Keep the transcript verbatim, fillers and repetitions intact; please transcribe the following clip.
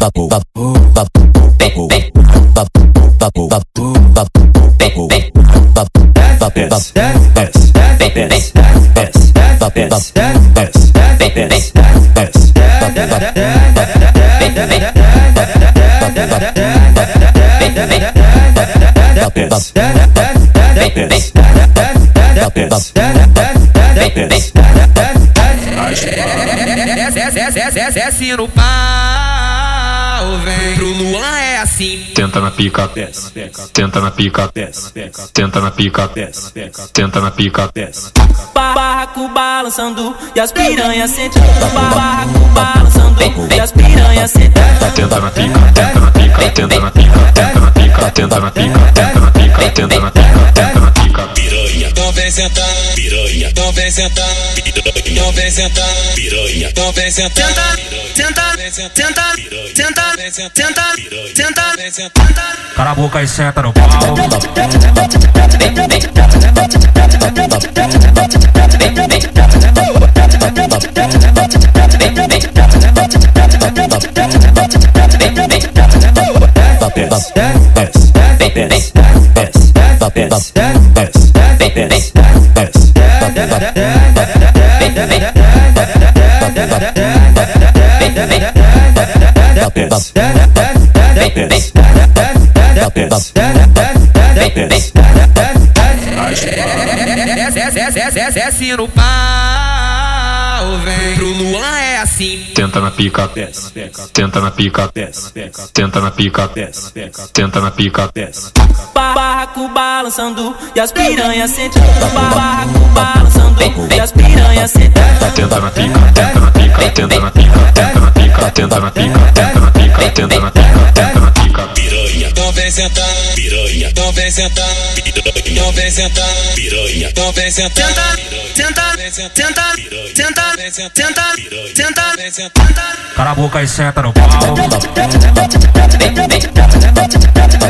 Desce no pau, vem pro Luan, é assim. Tenta na pica, tenta na pica, tenta na pica, tenta na pica. Barraco balançando e as piranhas sentindo. Barraco balançando e as piranhas sentindo. Tenta na pica, tenta na pica, tenta na pica, tenta na pica, tenta na pica, tenta na pica, tenta na pica, tenta na pica. Piranha, então vem sentar, piranha, então vem sentar, piranha, então vem sentar, piranha, então vem sentar. Sentar, sentar, sentar, sentar, sentar, sentar. Cala a boca e senta no pau. Desce no pau, vem pro Luan, é assim. Tenta na pica, tenta na pica, tenta na pica, tenta na pica. Barraco balançando e as piranhas sentindo. Barraco balançando e as piranhas sentindo. Tenta na pica, tenta na pica, tenta na pica, tenta na pica, tenta na pica, tenta na pica, tenta na pica, tenta na pica. Piranha, então vem sentar, piranha, então vem sentar, piranha, então vem sentar, piranha, então vem sentar. Sentar, sentar, sentar, sentar, sentar, sentar. Cala a boca e senta no pau.